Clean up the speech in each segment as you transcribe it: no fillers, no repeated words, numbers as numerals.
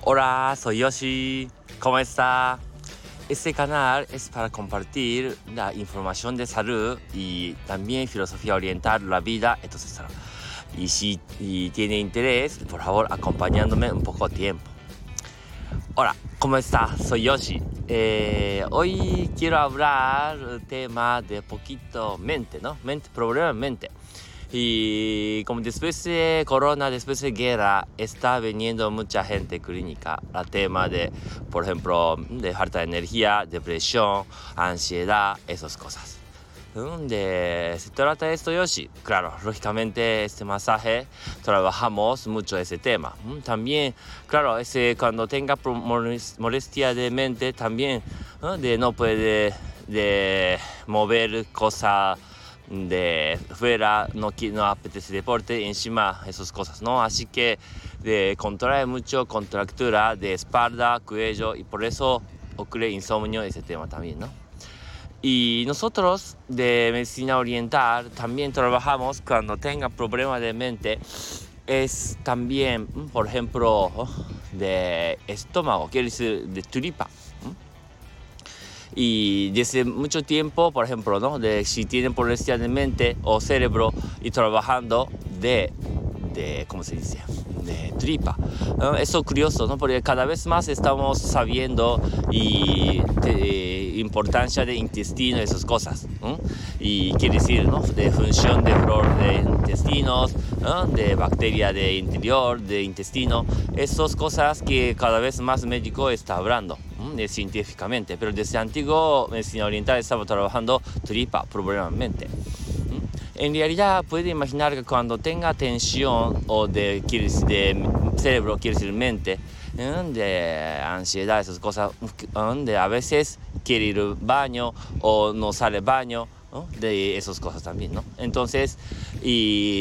Hola, soy Yoshi. ¿Cómo está? Este canal es para compartir la información de salud y también filosofía oriental de la vida. Entonces, y si tiene interés, por favor, acompañándome un poco de tiempo. Hola, ¿cómo está? Soy Yoshi. Hoy quiero hablar del tema de poquito mente, ¿no? Problema en mente. Y como después de corona, después de guerra, está viniendo mucha gente clínica. El tema de, por ejemplo, de falta de energía, depresión, ansiedad, esas cosas. Se trata de esto, Yoshi. Claro, lógicamente este masaje trabajamos mucho ese tema. También, claro, cuando tenga molestia de mente, también de no puede de mover cosas de fuera, no apetece deporte, encima esas cosas, ¿no? Así que contrae mucho contractura de espalda, cuello, y por eso ocurre insomnio, ese tema también, ¿no? Y nosotros de medicina oriental también trabajamos cuando tenga problemas de mente, es también, por ejemplo, de estómago, quiere decir de tripa. Y desde mucho tiempo, por ejemplo, ¿no? Si tienen molestia de mente o cerebro y trabajando ¿cómo se dice? De tripa. Eso es curioso, ¿no? Porque cada vez más estamos sabiendo importancia de intestino y esas cosas, ¿no? Y quiere decir, ¿no? De función de flor de intestinos, ¿no? De bacteria de interior, de intestino. Esas cosas que cada vez más médico está hablando científicamente. Pero desde antiguo medicina oriental estaba trabajando tripa, probablemente. En realidad puede imaginar que cuando tenga tensión o de cerebro, quiere decir mente, de ansiedad, esas cosas, de a veces quiere ir al baño o no sale al baño, ¿no? De esas cosas también, ¿no? Entonces, y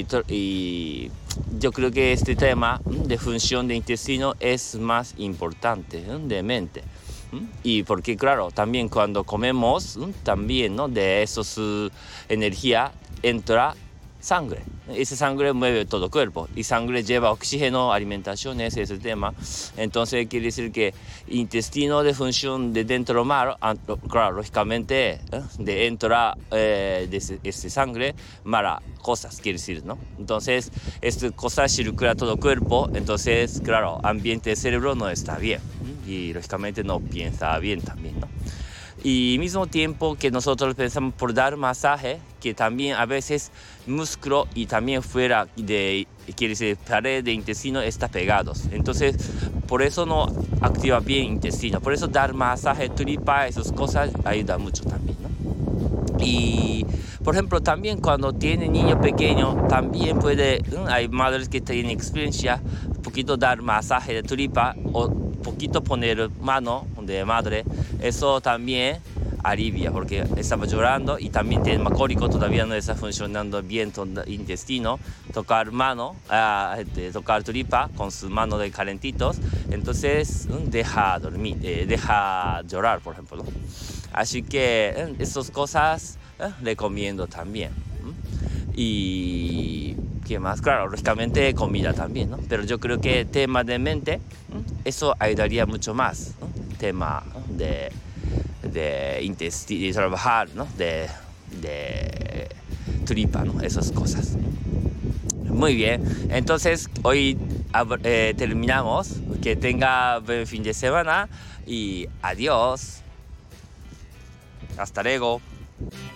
yo creo que este tema de función de intestino es más importante, de mente. Y porque claro, también cuando comemos, también, ¿no? De esos energía entra sangre. Esa sangre mueve todo el cuerpo y sangre lleva oxígeno, alimentación, ese es el tema. Entonces quiere decir que intestino de función de dentro mar, claro, lógicamente de entra de sangre mala cosas, quiere decir, ¿no? Entonces esta cosa circula todo el cuerpo, entonces claro, ambiente del cerebro no está bien y lógicamente no piensa bien también, ¿no? Y al mismo tiempo que nosotros pensamos por dar masaje, que también a veces músculo y también fuera quiere decir pared de intestino está pegados. Entonces, por eso no activa bien el intestino. Por eso dar masaje, tripa, esas cosas ayuda mucho también, ¿no? Y, por ejemplo, también cuando tiene niño pequeño, también hay madres que tienen experiencia, un poquito dar masaje de tripa o poquito poner mano de madre, eso también alivia porque estaba llorando y también tiene macólico, todavía no está funcionando bien el intestino, tocar tocar tripa con sus manos de calentitos, entonces deja dormir, deja llorar, por ejemplo, ¿no? Así que esas cosas recomiendo también. Y ¿qué más? Claro, lógicamente comida también, ¿no? Pero yo creo que tema de mente, eso ayudaría mucho más, ¿no? Tema, ¿no? de intestino, de trabajar, ¿no? De tripa, ¿no? Esas cosas. Muy bien, entonces hoy terminamos. Que tenga buen fin de semana y adiós. Hasta luego.